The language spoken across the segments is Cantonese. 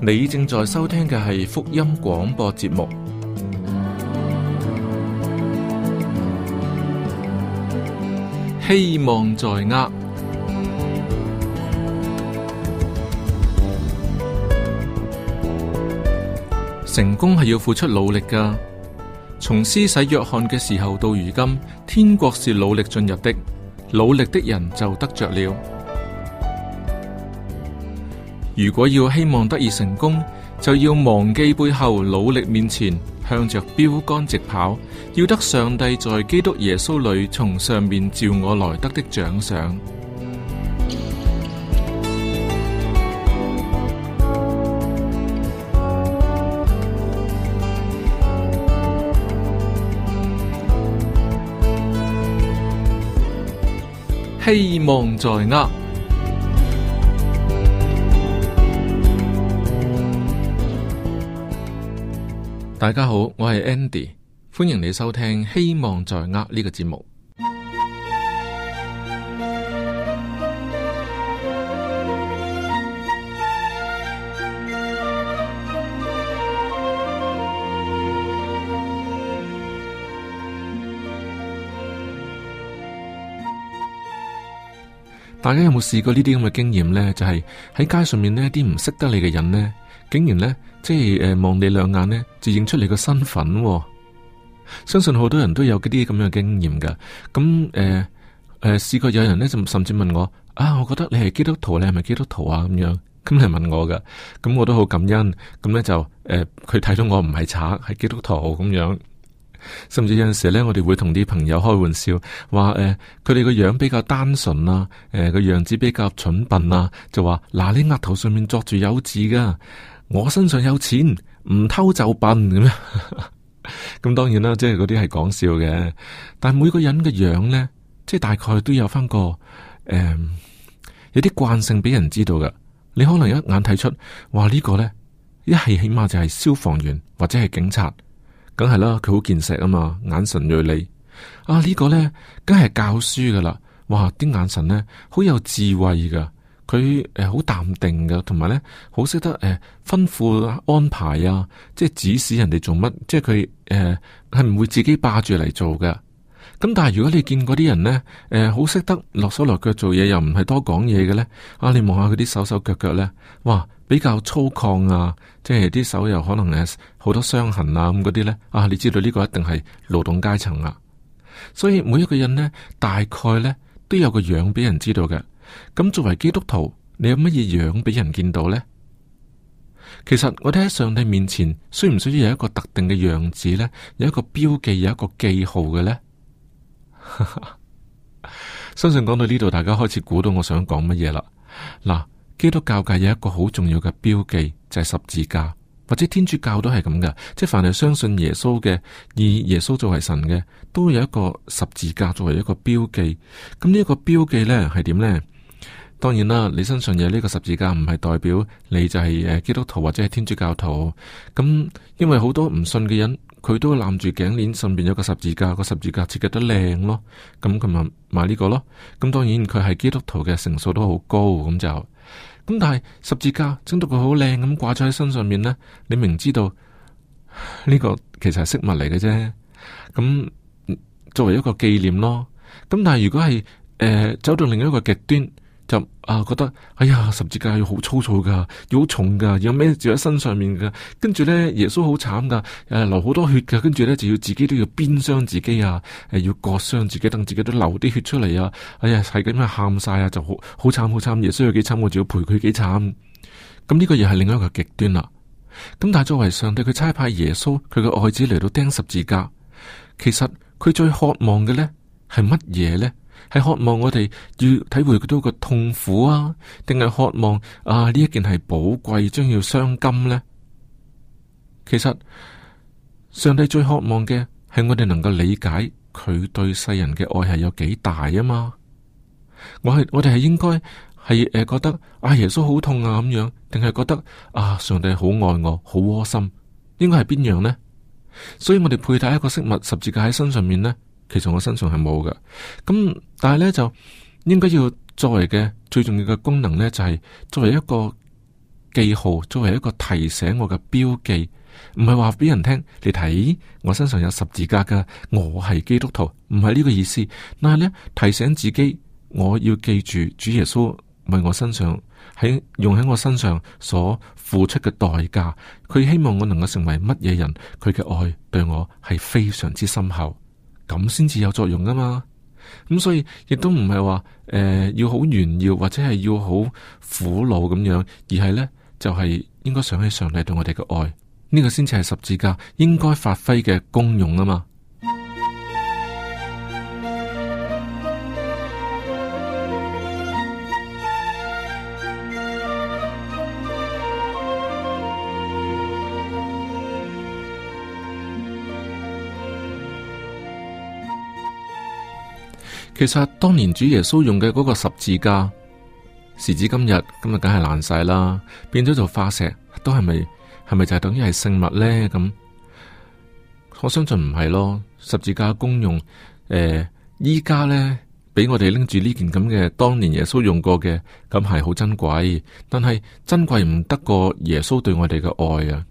你正在收聽嘅係福音廣播節目，希望在握。成功係要付出努力㗎。從施洗約翰嘅時候到如今，天國是努力進入的，努力的人就得着了。如果要希望得以成功，就要忘記背後，努力面前，向着標杆直跑，要得上帝在基督耶穌裏從上面召我來得的獎賞。希望在握。大家好，我係 Andy， 歡迎你收聽《希望在握》呢個節目。大家有冇試過呢啲咁嘅經驗呢？就係喺街上面呢啲唔識得你嘅人呢，竟然呢，即係望你兩眼呢，就認出你個身份喎。相信好多人都有嗰啲咁樣嘅經驗噶。咁試過有人呢，就甚至問我啊，我覺得你係基督徒，你係咪基督徒啊？咁樣咁嚟問我噶。咁我都好感恩。咁呢，就佢睇到我唔係賊，係基督徒咁樣。甚至有陣時咧，我哋會同啲朋友開玩笑，話佢哋個樣比較單純啊，個樣子比較蠢笨啊，就話嗱，你額頭上面作住有字噶，我身上有錢，唔偷就笨咁樣。咁當然啦，即係嗰啲係講笑嘅，但係每個人嘅樣咧，即係大概都有翻個有啲慣性俾人知道噶。你可能一眼睇出，哇，呢個咧一係起碼就係消防員或者係警察。梗係啦，佢好見識啊嘛，眼神銳利。啊，呢個呢，梗係教書噶啦。哇，啲眼神呢，好有智慧噶。佢好淡定噶，同埋呢，好識得吩咐安排啊，即係指使人哋做乜。即係佢係唔會自己霸住嚟做噶。咁但係如果你見嗰啲人呢，好識得落手落腳做嘢，又唔係多講嘢嘅呢。啊，你望下佢啲手手腳腳呢，哇！比較粗獷啊，即係啲手又可能好多傷痕啊咁嗰啲呢。啊，你知道呢個一定係勞動階層啊。所以每一個人呢，大概呢都有個樣俾人知道嘅。咁作為基督徒，你有乜嘢樣俾人見到呢？其實我哋喺上帝面前，需唔需要有一個特定嘅樣子呢？有一個標記，有一個記號嘅呢？相信講到呢度，大家開始估到我想講乜嘢啦。嗱。基督教界有一個好重要嘅標記，就係十字架，或者天主教都係咁噶，即係凡係相信耶穌嘅，以耶穌作為神嘅，都有一個十字架作為一個標記。咁呢一個標記呢係點呢？當然啦，你身上有呢個十字架，唔係代表你就係基督徒或者係天主教徒。咁因為好多唔信嘅人，佢都攬住頸鏈上邊有個十字架，個十字架設計得靚咯。咁佢咪買呢個咯。咁當然佢係基督徒嘅成數都好高，咁就。咁但係十字架整到佢好靚咁掛咗喺身上面呢，你明知道呢個其實係飾物嚟嘅啫。咁作為一個紀念咯。咁但係如果係走到另一個極端，就覺得哎呀，十字架要好粗糙噶，要好重噶，要孭住喺身上面噶。跟住呢，耶穌好慘噶，流好多血噶。跟住呢，就要自己都要鞭傷自己啊，要割傷自己，等自己都流啲血出嚟啊。哎呀，係咁樣喊晒啊，就好慘好慘。耶穌有幾慘，我就要陪佢幾慘。咁呢個又係另一個極端啦。咁但係作為上帝，佢差派耶穌佢嘅愛子嚟到釘十字架，其實佢最渴望嘅呢係乜嘢呢？係渴望我哋要體會到個痛苦啊，定係渴望呢一件係寶貴，將要傷金呢？其實上帝最渴望嘅係我哋能夠理解佢對世人嘅愛係有幾大啊嘛。我哋係應該係覺得耶穌好痛啊咁樣，定係覺得上帝好愛我，好窩心？應該係邊樣呢？所以我哋佩戴一個飾物十字架喺身上面呢，其實我身上係冇嘅。咁但係呢，就應該要作為嘅最重要嘅功能呢，就係作為一個記號，作為一個提醒我嘅標記，唔係話俾人聽你睇我身上有十字架噶，我係基督徒，唔係呢個意思。但係呢，提醒自己，我要記住主耶穌為我身上用喺我身上所付出嘅代價，佢希望我能夠成為乜嘢人，佢嘅愛對我係非常之深厚，咁先至有作用噶嘛。咁所以亦都唔係話要好炫耀或者係要好苦惱咁樣，而係呢，就係應該想起上帝對我哋嘅愛，呢個先至係十字架應該發揮嘅功用啊嘛。其實當年主耶穌用嘅嗰個十字架，時至今日梗係爛晒啦，變咗做化石，都係咪就係等於係聖物呢？咁我相信唔係咯。十字架嘅功用，依家呢，俾我哋拎住呢件咁嘅當年耶穌用過嘅，咁係好珍貴，但係珍貴唔得過耶穌對我哋嘅愛啊！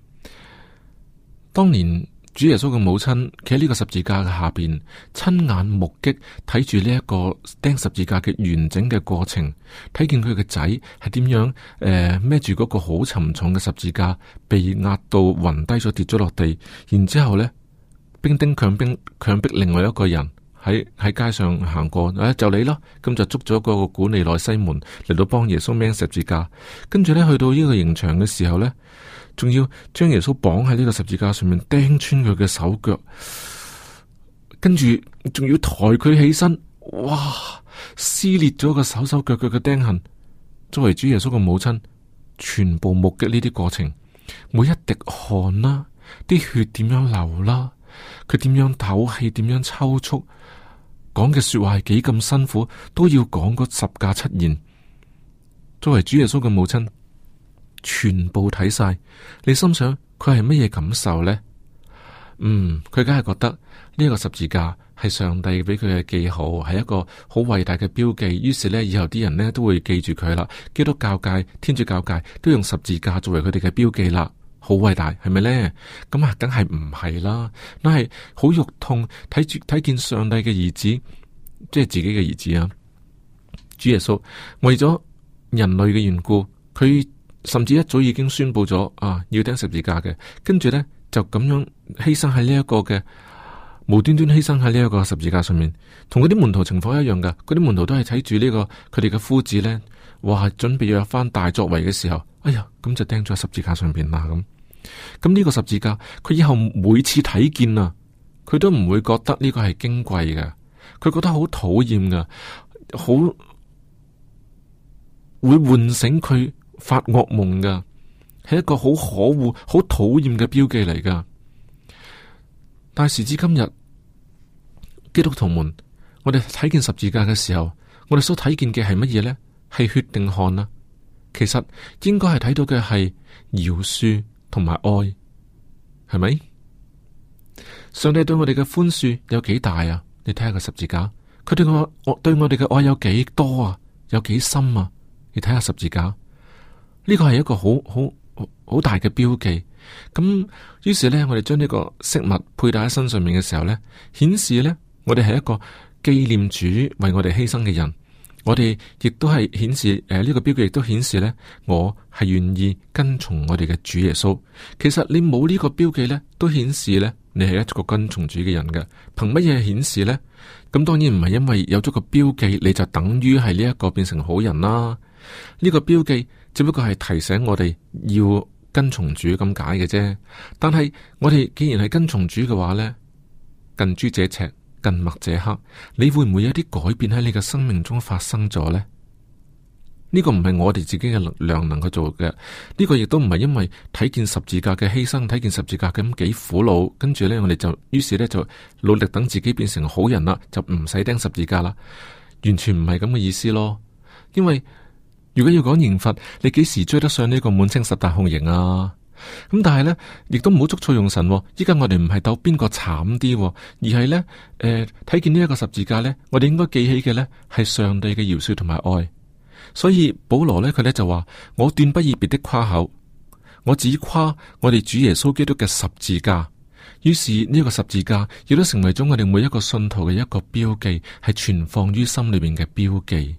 當年主耶穌嘅母親企喺呢個十字架嘅下邊，親眼目擊睇住呢一個釘十字架嘅完整嘅過程，睇見佢嘅仔係點樣孭住嗰個好沉重嘅十字架，被壓到暈低咗，跌咗落地，然之後呢，兵丁強逼另外一個人喺街上行過，就你咯，咁就捉咗嗰個古利奈西門嚟到幫耶穌孭十字架，跟住呢，去到呢個刑場嘅時候呢，仲要將耶穌綁喺呢個十字架上面，釘穿佢嘅手腳，跟住仲要抬佢起身，哇！撕裂咗個手腳嘅釘痕。作為主耶穌嘅母親，全部目擊呢啲過程，每一滴汗啦，啲血點樣流啦，佢點樣唞氣，點樣抽搐，講嘅說話係幾咁辛苦，都要講嗰十架七言。作為主耶穌嘅母親，全部睇晒，你心想佢係乜嘢感受呢？佢梗係覺得呢個十字架係上帝俾佢嘅記號，係一個好偉大嘅標記。於是呢，以後啲人呢都會記住佢啦。基督教界、天主教界都用十字架作為佢哋嘅標記啦，好偉大，係咪呢？咁啊，梗係唔係啦，但係好肉痛，睇見上帝嘅兒子，即係自己嘅兒子啊，主耶穌為咗人類嘅緣故，佢甚至一早已經宣布咗要釘十字架嘅，跟住呢，就咁樣犧牲喺呢一個嘅無端端犧牲喺呢一個十字架上面，同嗰啲門徒情況一樣噶。嗰啲門徒都係睇住呢個佢哋嘅夫子呢，話準備要有翻大作為嘅時候，哎呀，咁就釘咗喺十字架上邊啦。咁呢個十字架，佢以後每次睇見啊，佢都唔會覺得呢個係矜貴嘅，佢覺得好討厭噶，好會喚醒佢發噩夢噶，係一個好可惡、好討厭嘅標記嚟噶。但係時至今日，基督徒們，我哋睇見十字架嘅時候，我哋所睇見嘅係乜嘢呢？係血定汗啊？其實應該係睇到嘅係饒恕同埋愛，係咪？上帝對我哋嘅寬恕有幾大啊？你睇下個十字架，佢對我哋嘅愛有幾多啊？有幾深啊？你睇下十字架，呢個係一個好大嘅標記。咁於是呢，我哋將呢個飾物佩戴喺身上面嘅時候呢，顯示呢，我哋係一個紀念主為我哋犧牲嘅人。我哋亦都係顯示呢個標記亦都顯示呢，我係願意跟從我哋嘅主耶穌。其實你冇呢個標記呢，都顯示呢，你係一個跟從主嘅人嘅。憑乜嘢顯示呢？咁當然唔係因為有咗個標記，你就等於係呢一個變成好人啦。呢個標記只不過係提醒我哋要跟從主咁解嘅啫。但係我哋既然係跟從主嘅話呢，近朱者赤，近墨者黑，你會唔會有啲改變喺你嘅生命中發生咗呢？呢個唔係我哋自己嘅力量能夠做嘅，呢個亦都唔係因為睇見十字架嘅犧牲，睇見十字架咁幾苦惱，跟住呢，我哋就於是呢，就努力等自己變成好人啦，就唔使釘十字架啦。完全唔係咁嘅意思咯。因為如果要講刑罰，你幾時追得上呢個滿清十大酷刑啊？咁但係呢，亦都唔好捉錯用神。依家我哋唔係鬥邊個慘啲，而係呢，睇見呢一個十字架呢，我哋應該記起嘅呢係上帝嘅饒恕同埋愛。 所以保羅呢，佢呢就話：我斷不以別的誇口，我只誇我哋主耶穌基督嘅十字架。於是呢個十字架亦都成為咗我哋每一個信徒嘅一個標記，係存放於心裏面嘅標記。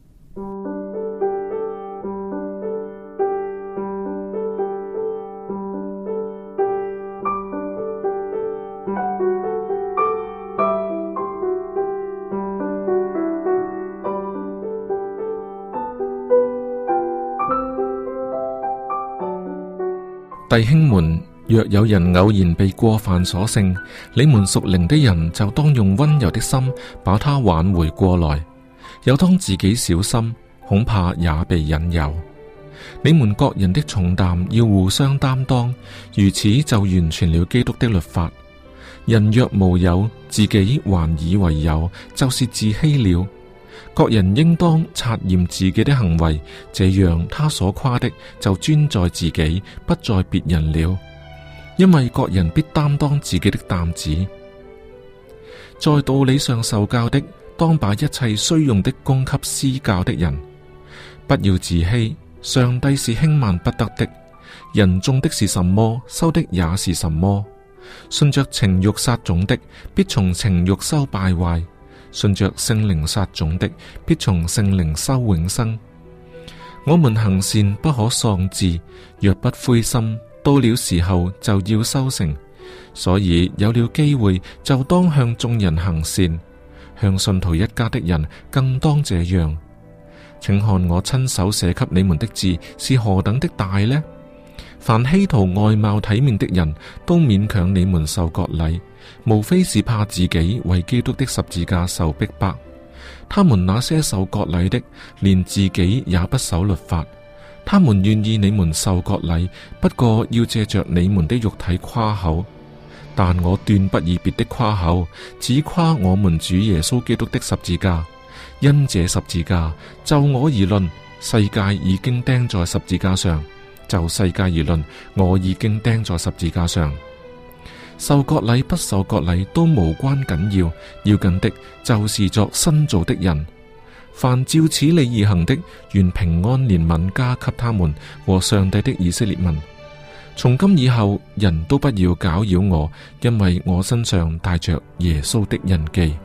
弟兄們，若有人偶然被過犯所勝，你們屬靈的人就當用溫柔的心把他挽回過來，又當自己小心，恐怕也被引誘。你們各人的重擔要互相擔當，如此就完全了基督的律法。人若無有，自己還以為有，就是自欺了。各人應當察驗自己的行為，這樣他所誇的就專在自己，不在別人了。因為各人必擔當自己的擔子。在道理上受教的，當把一切需用的供給施教的人。不要自欺，上帝是輕慢不得的。人種的是什麼，收的也是什麼。順着情欲撒種的，必從情欲收敗壞。順着聖靈撒種的，必從聖靈收永生。我們行善不可喪志，若不灰心，到了時候就要收成。所以有了機會，就當向眾人行善，向信徒一家的人更當這樣。請看我親手寫給你們的字是何等的大呢？凡希圖外貌體面的人都勉強你們受割禮，無非是怕自己為基督的十字架受逼迫。他們那些受割禮的，連自己也不守律法。他們願意你們受割禮，不過要借着你們的肉體誇口。但我斷不以別的誇口，只誇我們主耶穌基督的十字架。因這十字架，就我而論，世界已經釘在十字架上。就世界而論，我已經釘在十字架上。受割禮不受割禮都無關緊要，要緊的就是作新造的人。凡照此理而行的，願平安憐憫加給他們和上帝的以色列民。從今以後，人都不要攪擾我，因為我身上帶着耶穌的印記。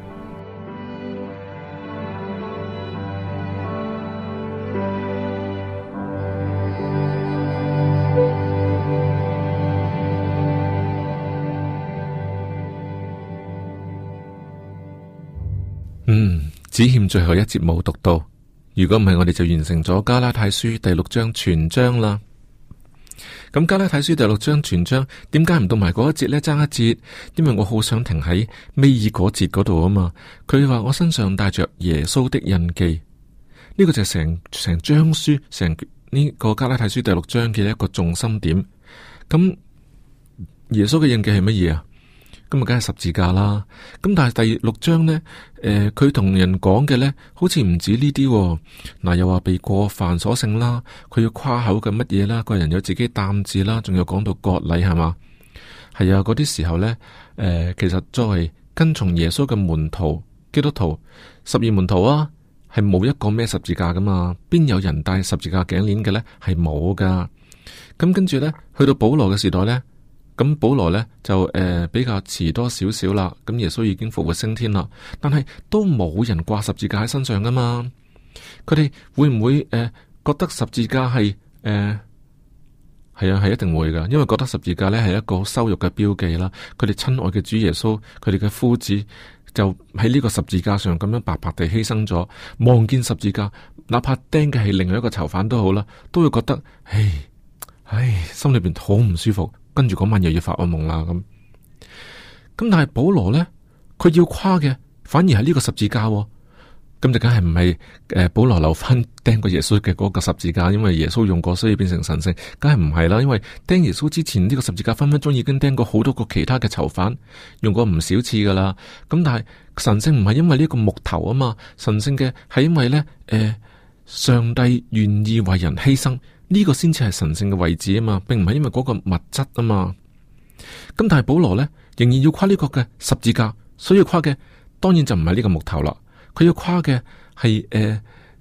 只欠最後一節冇讀到，如果唔係，我哋就完成咗加拉太書第6章全章啦。咁加拉太書第6章全章，點解唔讀埋嗰一節呢？爭一節，因為我好想停喺尾二嗰節嗰度啊嘛。佢話我身上帶着耶穌的印記，呢個就係成章書，成呢個加拉太書第6章嘅一個重心點。咁耶穌嘅印記係乜嘢啊？咁啊，梗係十字架啦。咁但係第6章呢，佢同人講嘅呢，好似唔止呢啲。嗱，又話被過犯所勝啦，佢要誇口嘅乜嘢啦，個人有自己擔子啦，仲有講到割禮係嘛？係啊，嗰啲時候呢，其實作為跟從耶穌嘅門徒、基督徒、12門徒啊，係冇一個孭十字架噶嘛？邊有人戴十字架頸鏈嘅呢？係冇噶。咁跟住呢，去到保羅嘅時代呢。咁保羅呢，就比較遲多少少啦，咁耶穌已經復活升天啦，但係都冇人掛十字架喺身上噶嘛。佢哋會唔會覺得十字架係係啊，係一定會噶，因為覺得十字架呢係一個羞辱嘅標記啦。佢哋親愛嘅主耶穌，佢哋嘅夫子就喺呢個十字架上咁樣白白地犧牲咗，望見十字架，哪怕釘嘅係另外一個囚犯都好啦，都會覺得唉，心裏邊好唔舒服。跟住嗰晚又要發噩夢啦咁，但係保羅呢，佢要誇嘅反而係呢個十字架，咁就梗係唔係保羅留翻釘過耶穌嘅嗰個十字架，因為耶穌用過，所以變成神聖，梗係唔係啦。因為釘耶穌之前呢個十字架分分鐘已經釘過好多個其他嘅囚犯，用過唔少次噶啦。咁但係神聖唔係因為呢個木頭啊嘛，神聖嘅係因為呢，上帝願意為人犧牲。呢個先至係神聖嘅位置啊嘛，並唔係因為嗰個物質啊嘛。咁但係保羅呢，仍然要誇呢個嘅十字架，所以誇嘅當然就唔係呢個木頭啦。佢要誇嘅係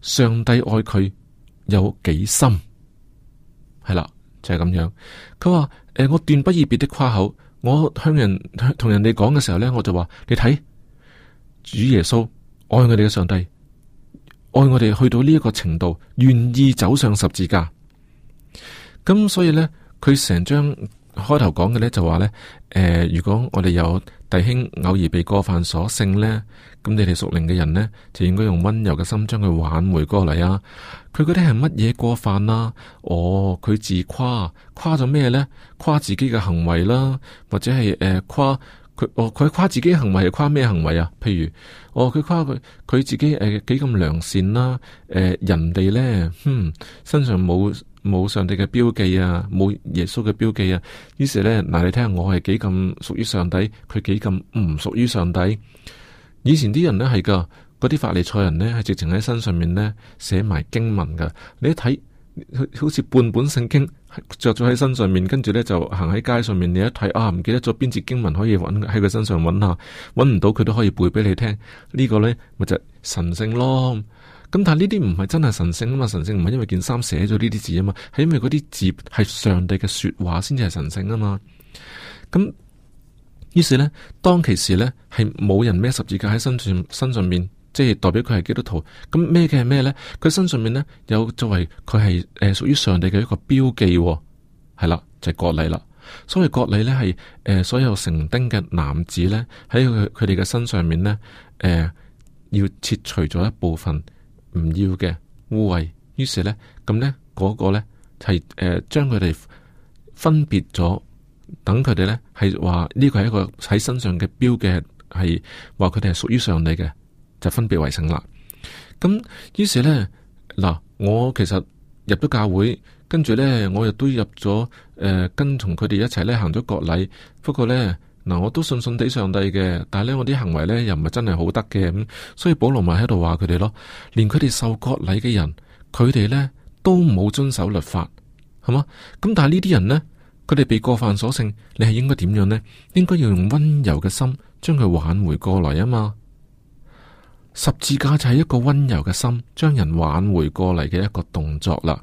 上帝愛佢有幾深，係啦，就係咁樣。佢話我斷不以別的誇口，我同人哋講嘅時候呢，我就話你睇，主耶穌愛我哋嘅上帝，愛我哋去到呢一個程度，願意走上十字架。咁所以呢，佢成章開頭講嘅呢，就話呢：如果我哋有弟兄偶爾被過犯所勝呢，咁你哋屬靈嘅人呢，就應該用溫柔嘅心將佢挽回過嚟啊。佢嗰啲係乜嘢過犯啊？佢自誇咗咩呢？誇自己嘅行為啦，或者係誇佢誇自己嘅行為係誇咩行為啊？譬如佢誇佢自己幾咁良善啦，人哋呢，身上冇上帝嘅標記啊，冇耶穌嘅標記啊，於是呢，嗱，你睇下我係幾咁屬於上帝，佢幾咁唔屬於上帝。以前啲人呢係噶，嗰啲法利賽人呢係直情喺身上面呢寫埋經文噶，你一睇好似半本聖經着咗喺身上面，跟住呢就行喺街上面，你一睇唔記得咗邊節經文可以揾喺佢身上揾下，揾唔到佢都可以背俾你聽，呢個呢咪就神聖咯。咁但係呢啲唔係真係神聖啊嘛，神聖唔係因為件衫寫咗呢啲字啊嘛，係因為嗰啲字係上帝嘅說話先至係神聖啊嘛。咁於是呢，當其時呢，係冇人孭十字架喺身上面，即係代表佢係基督徒。咁孭嘅係咩呢？佢身上面呢，有作為佢係屬於上帝嘅一個標記，係啦，就係割禮啦。所謂割禮呢，係所有成丁嘅男子呢，喺佢哋嘅身上面呢，要切除咗一部分唔要嘅污穢。於是呢，咁呢嗰個呢，係將佢哋分別咗。等佢哋呢係話呢個係一個喺身上嘅標記，係話佢哋係屬於上帝嘅，就分別為聖啦。咁於是呢，嗱，我其實入咗教會，跟住呢，我亦都入咗跟從佢哋一齊呢行咗割禮。不過呢，嗱，我都信地上帝嘅，但係呢，我啲行為呢又唔係真係好得嘅。咁所以保羅咪喺度話佢哋咯，連佢哋受割禮嘅人，佢哋呢都冇遵守律法，係嘛？咁但係呢啲人呢，佢哋被過犯所勝，你係應該點樣呢？應該要用溫柔嘅心將佢挽回過來啊嘛！十字架就係一個溫柔嘅心將人挽回過嚟嘅一個動作啦。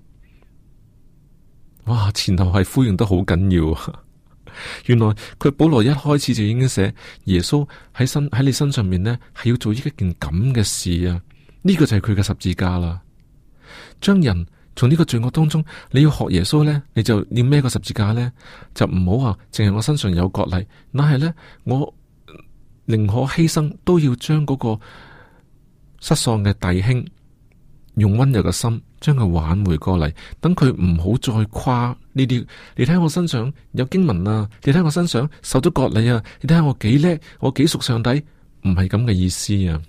哇，前後係呼應得好緊要啊！原來佢保羅一開始就已經寫耶穌喺你身上面呢，係要做一件咁嘅事啊！呢個就係佢嘅十字架啦，將人從呢個罪惡當中，你要學耶穌呢，你就要孭個十字架呢，就唔好話淨係我身上有割禮，但係呢，我寧可犧牲，都要將嗰個失喪嘅弟兄用溫柔嘅心將佢挽回過嚟，等佢唔好再誇呢啲。你睇我身上有經文啊，你睇我身上受咗割禮啊，你睇下我幾叻，我幾屬上帝，唔係咁嘅意思啊。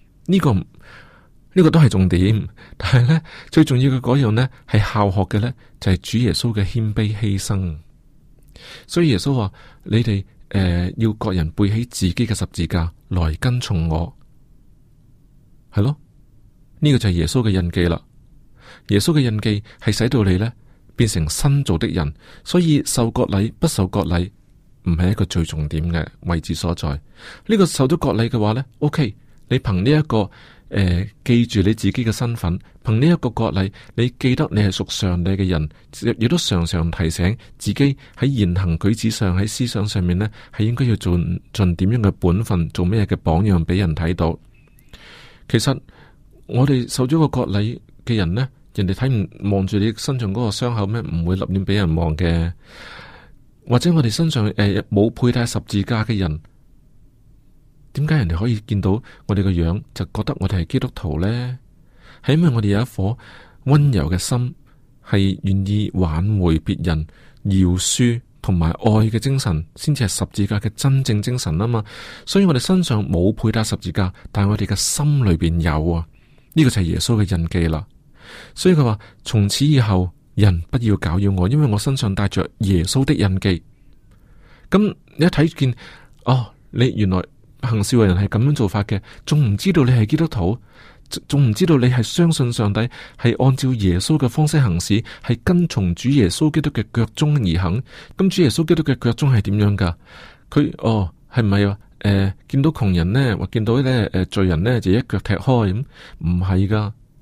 呢個都係重點，但係呢，最重要嘅嗰樣呢，係效學嘅呢，就係主耶穌嘅謙卑犧牲。所以耶穌話：你哋要各人背起自己嘅十字架來跟從我，係咯。呢個就係耶穌嘅印記啦。耶穌嘅印記係使到你呢變成新造的人，所以受割禮不受割禮唔係一個最重點嘅位置所在。呢個受咗割禮嘅話呢 OK， 你憑呢一個。記住你自己嘅身份，憑呢一個割禮，你記得你係屬上帝嘅人，亦都常常提醒自己喺言行舉止上，喺思想上面呢，係應該要做盡點樣嘅本分，做咩嘅榜樣俾人睇到。其實我哋受咗個割禮嘅人呢，人哋睇唔望住你身上嗰個傷口咩？唔會立亂俾人望嘅。或者我哋身上冇佩戴十字架嘅人。點解人哋可以見到我哋個樣就覺得我哋係基督徒呢？係因為我哋有一顆溫柔嘅心，係願意挽回別人、饒恕同埋愛嘅精神，先至係十字架嘅真正精神啊嘛。所以我哋身上冇佩戴十字架，但係我哋嘅心裏邊有啊。呢個就係耶穌嘅印記啦。所以佢話：從此以後，人不要攪擾我，因為我身上帶着耶穌的印記。咁你一睇見，你原來。行事為人係咁樣做法嘅，仲唔知道你係基督徒，仲唔知道你係相信上帝，係按照耶穌嘅方式行事，係跟從主耶穌基督嘅腳蹤而行。咁主耶穌基督嘅腳蹤係點樣噶？佢係唔係話見到窮人呢，或見到罪人呢，就一腳踢開咁？唔係噶，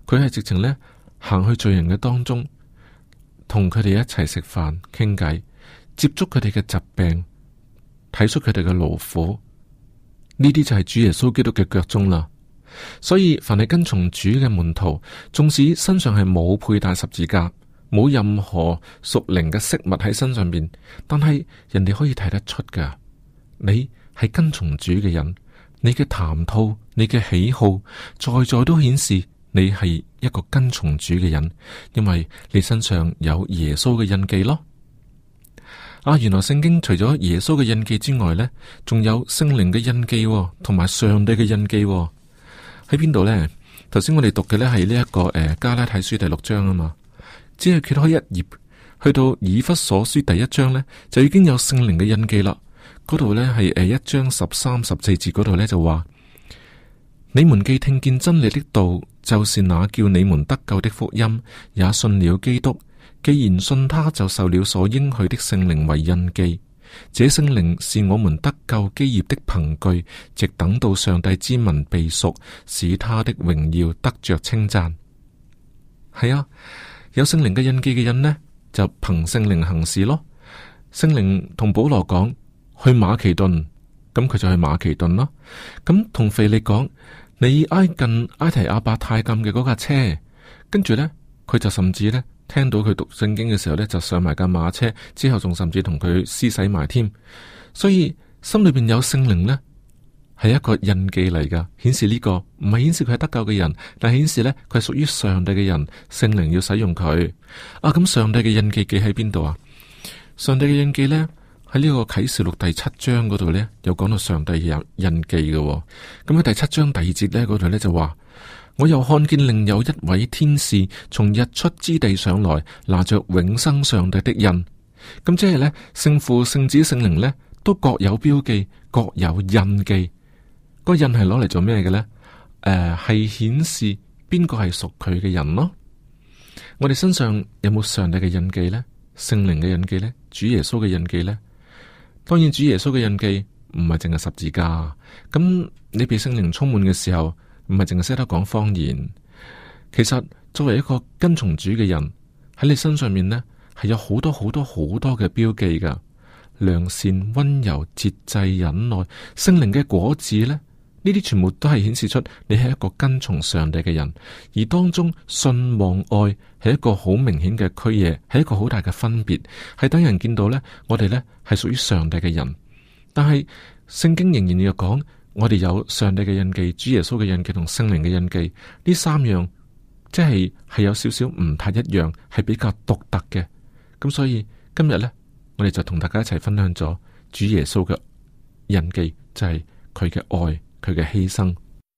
佢係直情呢行去罪人嘅當中，同佢哋一齊食飯傾偈，接觸佢哋嘅疾病，睇出佢哋嘅勞苦。呢啲就係主耶穌基督嘅腳蹤啦。所以凡係跟從主嘅門徒，縱使身上係冇佩戴十字架，冇任何屬靈嘅飾物喺身上邊，但係人哋可以睇得出噶，你係跟從主嘅人，你嘅談吐、你嘅喜好，在都顯示你係一個跟從主嘅人，因為你身上有耶穌嘅印記咯。原來聖經除咗耶穌嘅印記之外呢，仲有聖靈嘅印記，同埋上帝嘅印記。喺邊度呢？頭先我哋讀嘅呢係呢一個加拉太書第6章啊嘛，只係揭開一頁，去到以弗所書第1章呢，就已經有聖靈嘅印記啦。嗰度呢係1章13、14節嗰度呢就話：你們既聽見真理的道，就是那叫你們得救的福音，也信了基督。既然信他，就受了所應許的聖靈為印記。這聖靈是我們得救基業的憑據，直等到上帝之民被贖，使他的榮耀得着稱讚。係啊，有聖靈嘅印記嘅人呢，就憑聖靈行事咯。聖靈同保羅講去馬其頓，咁佢就去馬其頓咯。咁同腓利講，你挨近埃提阿伯太監嘅嗰架車，跟住呢，佢就甚至呢。聽到佢讀聖經嘅時候呢，就上埋架馬車，之後仲甚至同佢施洗埋添。所以心裏邊有聖靈呢，係一個印記嚟噶，顯示呢個唔係顯示佢係得救嘅人，但係顯示呢，佢係屬於上帝嘅人。聖靈要使用佢咁上帝嘅印記記喺邊度啊？上帝嘅印記呢，喺呢個啟示錄第7章嗰度呢，有講到上帝有印記嘅。咁喺第7章第2節呢，嗰度呢就話。我又看見另有一位天使從日出之地上來，拿着永生上帝的印。咁即係呢，聖父、聖子、聖靈呢，都各有標記，各有印記。個印係攞嚟做咩嘅呢？係顯示邊個係屬佢嘅人咯。我哋身上有冇上帝嘅印記呢？聖靈嘅印記呢？主耶穌嘅印記呢？當然，主耶穌嘅印記唔係淨係十字架。咁你被聖靈充滿嘅時候，唔係淨係識得講方言，其實作為一個跟從主嘅人，喺你身上面呢，係有好多好多好多嘅標記噶，良善、溫柔、節制、忍耐，聖靈嘅果子呢，呢啲全部都係顯示出你係一個跟從上帝嘅人，而當中信望愛係一個好明顯嘅區嘢，係一個好大嘅分別，係等人見到呢，我哋呢係屬於上帝嘅人，但係聖經仍然要講。我哋有上帝嘅印記、主耶穌嘅印記同聖靈嘅印記，呢3樣即係有少少唔太一樣，係比較獨特嘅。咁所以今日呢，我哋就同大家一齊分享咗主耶穌嘅印記，就係佢嘅愛、佢嘅犧牲。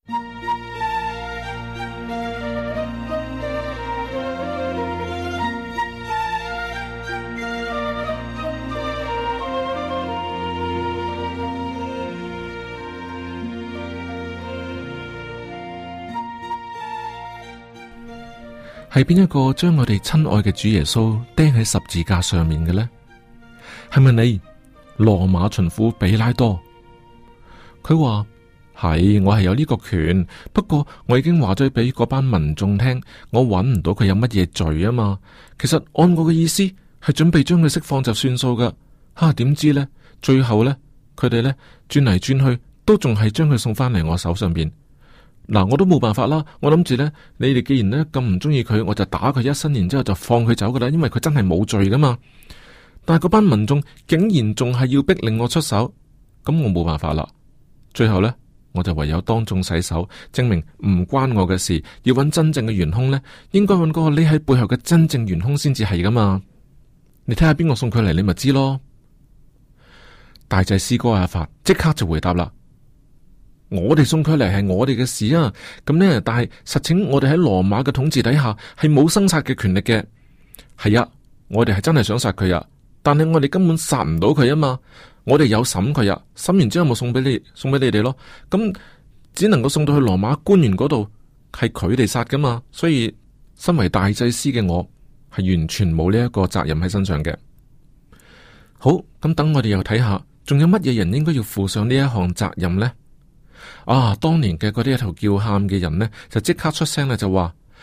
係邊一個將我哋親愛嘅主耶穌釘喺十字架上面嘅呢？係咪你羅馬巡撫比拉多？佢話係，我係有呢個權，不過我已經話咗俾嗰班民眾聽，我揾唔到佢有乜嘢罪啊嘛。其實按我嘅意思係準備將佢釋放就算數噶。點知呢？最後呢，佢哋呢轉嚟轉去都仲係將佢送翻嚟我手上邊。我都冇辦法啦。我諗住呢，你哋既然呢咁唔中意佢，我就打佢一身，然之後就放佢走噶啦。因為佢真係冇罪噶嘛。但係嗰班民眾竟然仲係要逼令我出手，咁我冇辦法啦。最後呢，我就唯有當眾洗手，證明唔關我嘅事。要揾真正嘅元兇呢，應該揾嗰個匿喺背後嘅真正元兇先至係噶嘛。你睇下邊個送佢嚟，你咪知咯。大祭司哥亞法即刻就回答啦。我哋送佢嚟係我哋嘅事啊，咁呢，但係實情我哋喺羅馬嘅統治底下係冇生殺嘅權力嘅。係啊，我哋係真係想殺佢啊，但係我哋根本殺唔到佢啊嘛。我哋有審佢啊，審完之後咪送俾你哋咯。咁只能夠送到去羅馬官員嗰度，係佢哋殺噶嘛。所以身為大祭司嘅我係完全冇呢一個責任喺身上嘅。好，咁等我哋又睇下，仲有乜嘢人應該要負上呢一項責任呢？當年嘅嗰啲一頭叫喊嘅人呢，就即刻出聲啦，就話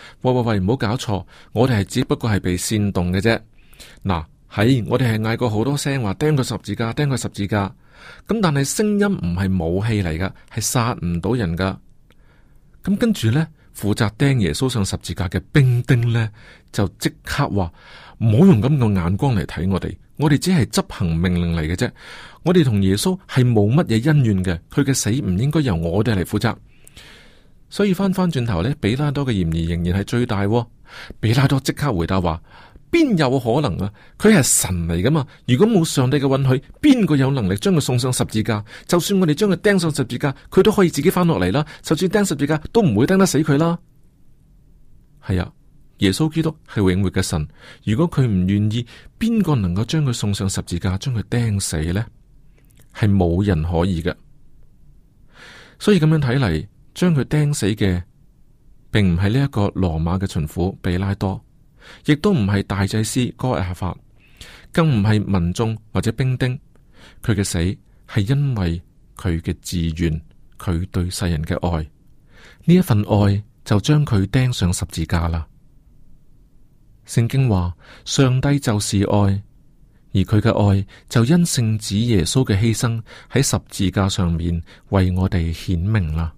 喂，唔好搞錯，我哋係只不過係被煽動嘅啫。嗱，我哋係嗌過好多聲話釘個十字架，釘個十字架。咁但係聲音唔係武器嚟噶，係殺唔到人噶。咁跟住呢，負責釘耶穌上十字架嘅兵丁呢，就即刻話唔好用咁嘅眼光嚟睇我哋只係執行命令嚟嘅啫。我哋同耶穌係冇乜嘢恩怨嘅，佢嘅死唔應該由我哋嚟負責。所以翻轉頭呢，比拉多嘅嫌疑仍然係最大。比拉多即刻回答話：邊有可能啊？佢係神嚟噶嘛？如果冇上帝嘅允許，邊個有能力將佢送上十字架？就算我哋將佢釘上十字架，佢都可以自己翻落嚟啦。就算釘十字架，都唔會釘得死佢啦。係啊，耶穌基督係永活嘅神。如果佢唔願意，邊個能夠將佢送上十字架，將佢釘死呢？係冇人可以嘅。所以咁樣睇嚟，將佢釘死嘅，並唔係呢一個羅馬嘅巡撫比拉多，亦都唔係大祭司該亞法，更唔係民眾或者兵丁。佢嘅死係因為佢嘅自願，佢對世人嘅愛，呢一份愛就將佢釘上十字架啦。聖經話上帝就是愛，而佢嘅愛就因聖子耶穌嘅犧牲喺十字架上面為我哋顯明啦。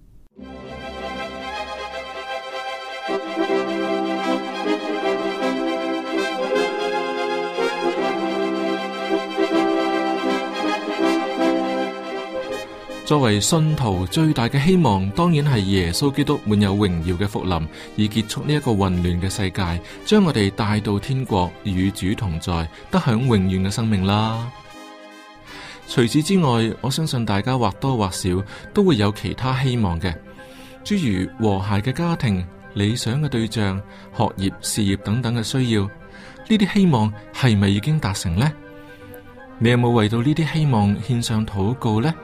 作為信徒最大嘅希望，當然係耶穌基督滿有榮耀嘅復臨，以結束呢一個混亂嘅世界，將我哋帶到天國，與主同在，得享永遠嘅生命啦。除此之外，我相信大家或多或少都會有其他希望嘅，諸如和諧嘅家庭、理想嘅對象、學業、事業等等嘅需要。呢啲希望係咪已經達成呢？你有冇為到呢啲希望獻上禱告呢？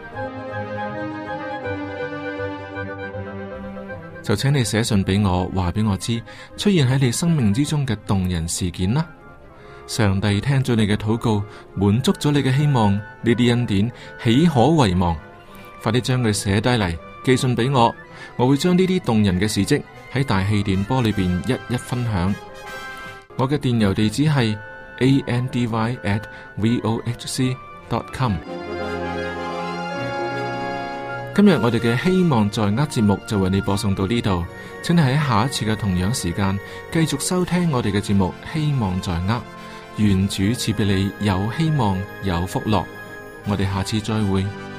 就請你寫信俾我，話俾我知出現喺你生命之中嘅動人事件啦。上帝聽咗你嘅禱告，滿足咗你嘅希望，呢啲恩典豈可遺忘？快啲將佢寫低嚟，寄信俾我，我會將呢啲動人嘅事跡喺大氣電波裏邊一一分享。我嘅電郵地址係 andy@vohc.com。今日我哋嘅希望在握節目就為你播送到呢度，請你喺下一次嘅同樣時間繼續收聽我哋嘅節目。希望在握，願主賜俾你有希望有福樂。我哋下次再會。